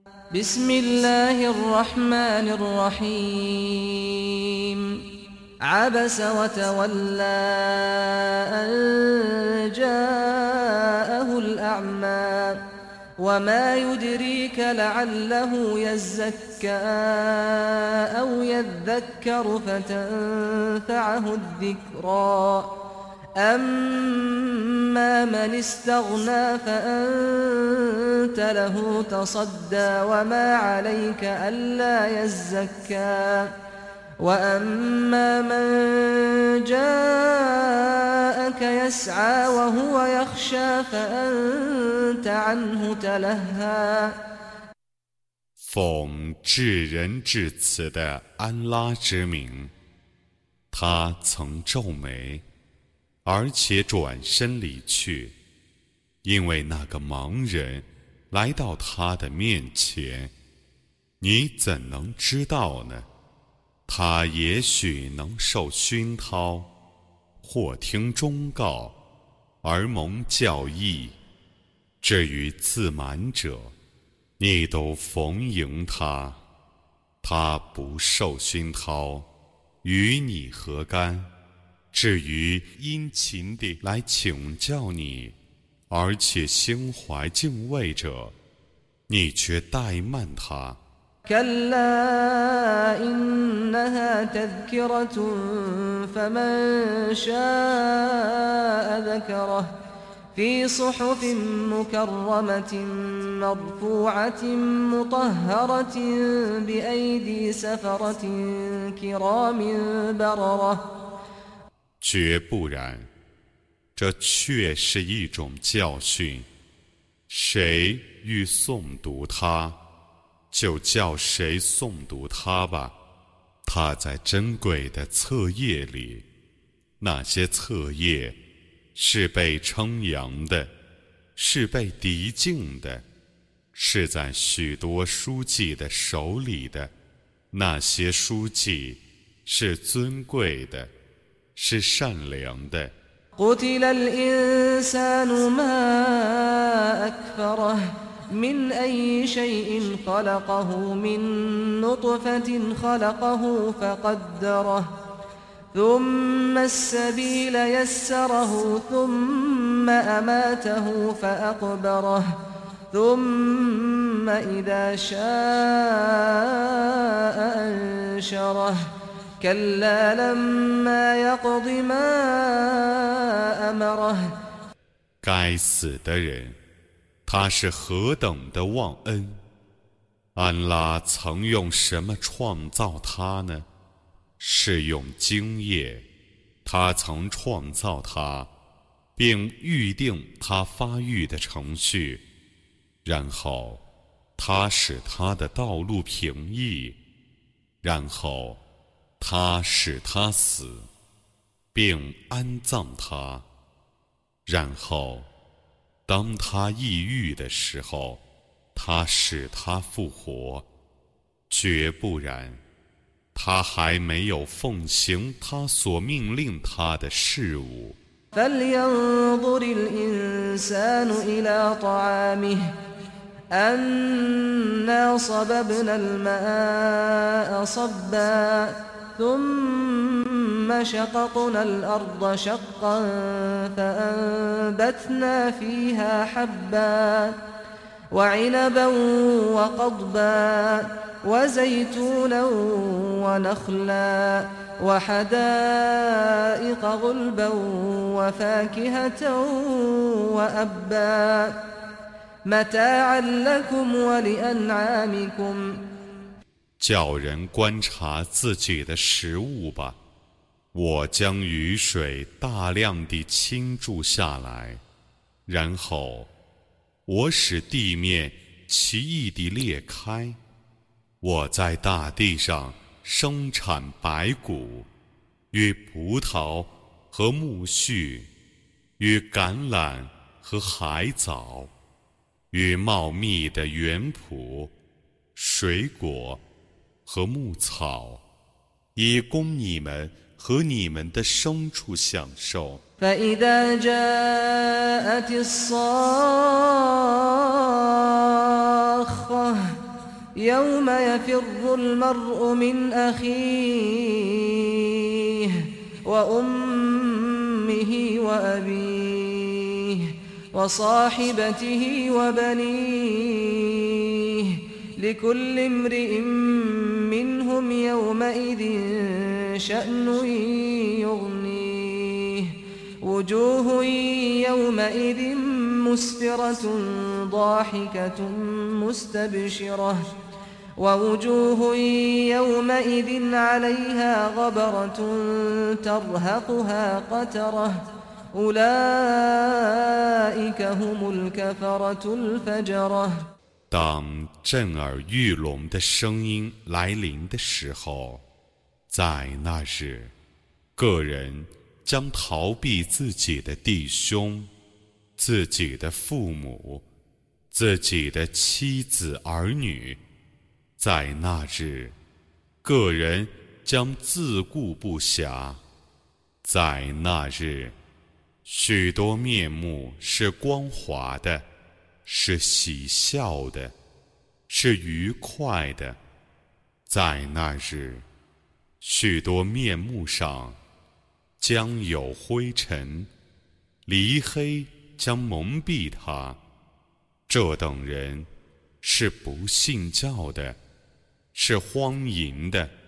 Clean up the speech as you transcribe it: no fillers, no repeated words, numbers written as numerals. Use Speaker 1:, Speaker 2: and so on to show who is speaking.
Speaker 1: بسم الله الرحمن الرحيم عبس وتولى أن جاءه الأعمى وما يدريك لعله يزكى أو يذكر فتنفعه الذكرى أما من استغنى فأنت له تصدى وما عليك ألا يزكى وأما من جاءك يسعى وهو يخشى فأنت عنه تلهى
Speaker 2: 奉至仁至慈的安拉之名，他曾皱眉，而且转身离去，因为那个盲人来到他的面前，你怎能知道呢？他也许能受熏陶，或听忠告而蒙教义。至于自满者，你都逢迎他，他不受熏陶，与你何干？至于殷勤地来请教你，而且心怀敬畏者，你却怠慢他。
Speaker 1: كلا إنها تذكرة فمن شاء ذكره في صحف مكرمة مرفوعة مطهرة بأيدي سفرة كرام بررة
Speaker 2: 绝不然，这确是一种教训。谁欲诵读它，就叫谁诵读它吧。它在珍贵的册页里，那些册页是被称扬的，是被涤净的，是在许多书记的手里的。那些书记是尊贵的，是善良的。
Speaker 1: قتل الإنسان ما أكفره من أي شيء خلقه من نطفة خلقه فقدره ثم السبيل يسره ثم أماته فأقبره ثم إذا شاء أنشره كلا لما يقض ما أمره
Speaker 2: 该死的人，他是何等的忘恩！安拉曾用什么创造他呢？是用精液。他曾创造他，并预定他发育的程序，然后他使他的道路平易，然后他使他死，并安葬他，然后当他抑郁的时候，他使他复活。绝不然，他还没有奉行他所命令他的事物。
Speaker 1: فلينظر الإنسان إلى طعامه أنا صببنا الماء صبا ثم شققنا الأرض شقا فأنبتنا فيها حبا وعنبا وقضبا وزيتونا ونخلا وحدائق غلبا وفاكهة وأبا متاعا لكم ولأنعامكم
Speaker 2: 叫人观察自己的食物吧。我将雨水大量地倾注下来，然后我使地面奇异地裂开。我在大地上生产白谷，与葡萄和苜蓿，与橄榄和海藻，与茂密的园圃、水果和牧草，以供你们和你们的牲畜享受。
Speaker 1: فإذا جاءت الصاخة يوم يفر المرء من أخيه وأمه وأبيه وصاحبته وبنيه لكل امرئ منهم يومئذ شأن يغنيه وجوه يومئذ مسفرة ضاحكة مستبشرة ووجوه يومئذ عليها غبرة ترهقها قترة أولئك هم الكفرة الفجرة
Speaker 2: 当震耳欲聋的声音来临的时候，在那日，个人将逃避自己的弟兄、自己的父母、自己的妻子儿女。在那日，个人将自顾不暇。在那日，许多面目是光滑的，是喜笑的，是愉快的。在那日，许多面目上将有灰尘，离黑将蒙蔽他。这等人是不信教的，是荒淫的。